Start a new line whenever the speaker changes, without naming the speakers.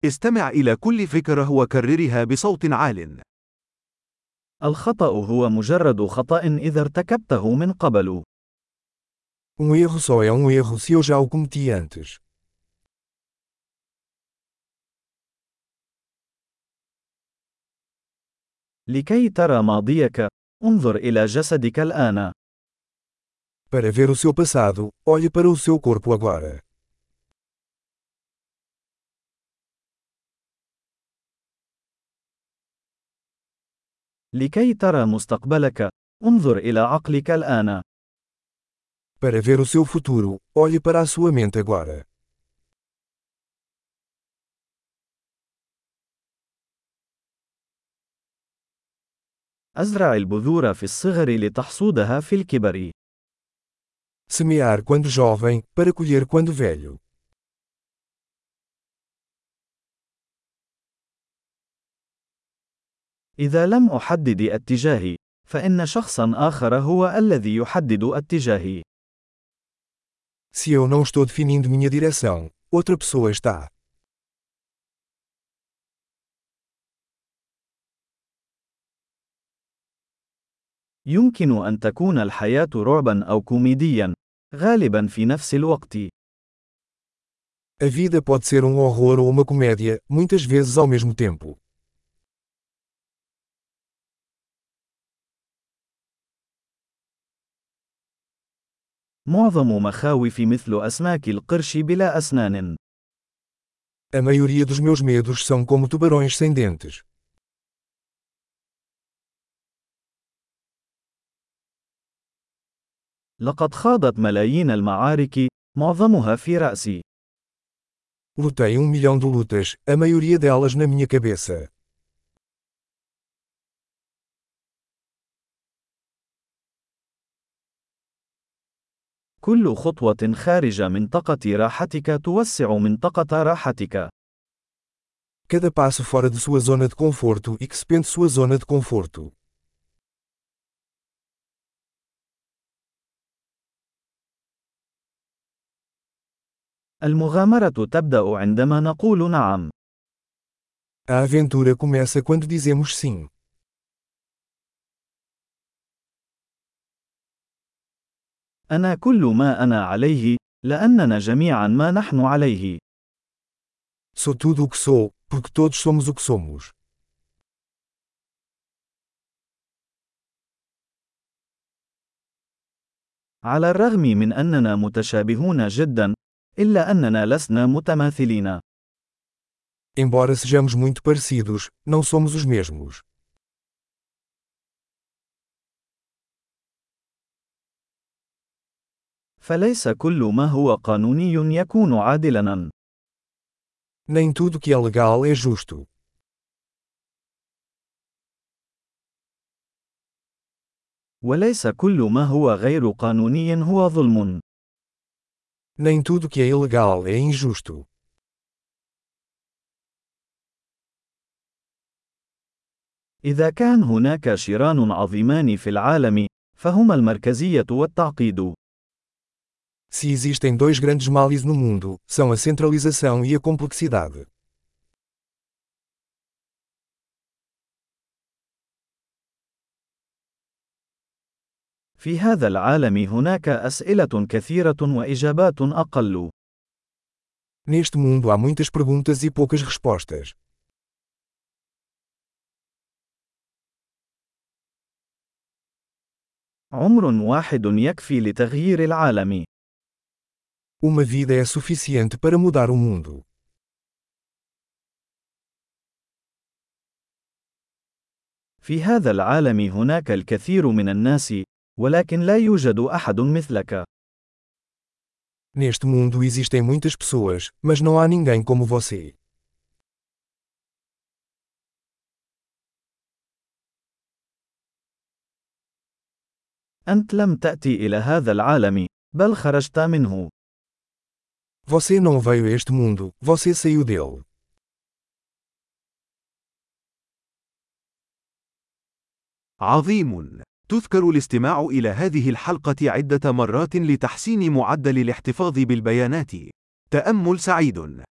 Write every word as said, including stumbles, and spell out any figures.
استمع إلى كل فكرة وكررها بصوت عال.
الخطأ هو مجرد خطأ إذا ارتكبته من قبل.
Um erro só é um erro se eu já o cometi antes.
لكي ترى ماضيك، انظر إلى جسدك الآن.
Para ver o seu passado, olhe para o seu corpo agora.
لكي ترى مستقبلك، انظر إلى عقلك الآن.
Para ver o seu futuro, olhe para a sua mente agora.
أزرع البذور في الصغر لتحصودها في الكبر.
Semear quando jovem, para colher quando velho.
إذا لم أحدد اتجاهي، فإن شخصا آخر هو الذي يحدد اتجاهي.
Se eu não estou definindo minha direção, outra pessoa está.
يمكن أن تكون الحياة رعبا أو كوميديا، غالبا في نفس الوقت.
A vida pode ser um horror ou uma comédia, muitas vezes ao mesmo tempo.
معظم مخاوف مثل أسماك القرش بلا أسنان.
A maioria dos meus medos são como tubarões sem dentes.
لقد خاضت ملايين المعارك، معظمها في رأسي.
Lutei um milhão de lutas, a maioria delas na minha cabeça.
كل خطوة خارج منطقة راحتك توسع منطقة راحتك.
Cada passo fora de sua zona de conforto expande sua zona de conforto.
المغامرة تبدأ عندما نقول نعم.
A aventura começa quando dizemos sim.
أنا كل ما أنا عليه، لأننا جميعا ما نحن عليه.
Sou tudo o que sou, porque todos somos o que somos.
على الرغم من أننا متشابهون جدا، إلا أننا لسنا متماثلين.
Embora sejamos muito parecidos, não somos os mesmos.
فليس كل ما هو قانوني يكون عادلاً.
Nem tudo que é legal é justo.
وليس كل ما هو غير قانوني هو ظلم.
Nem tudo que é ilegal é injusto.
إذا كان هناك شران عظيمان في العالم، فهما المركزية والتعقيد.
Se existem dois grandes males no mundo, são a centralização e a complexidade.
في هذا العالم هناك أسئلة كثيرة وإجابات أقل.
Neste mundo há muitas perguntas e poucas respostas.
عمر واحد يكفي لتغيير العالم.
Uma vida é suficiente para mudar o mundo.
في هذا العالم هناك الكثير من الناس، ولكن لا يوجد أحد مثلك.
Neste mundo existem muitas pessoas, mas não há ninguém como você.
أنت لم تأتي إلى هذا العالم، بل خرجت منه.
Você não veio a este mundo, você saiu dele.
عظيم! تذكر الاستماع إلى هذه الحلقة عدة مرات لتحسين معدل الاحتفاظ بالبيانات. تأمل سعيد!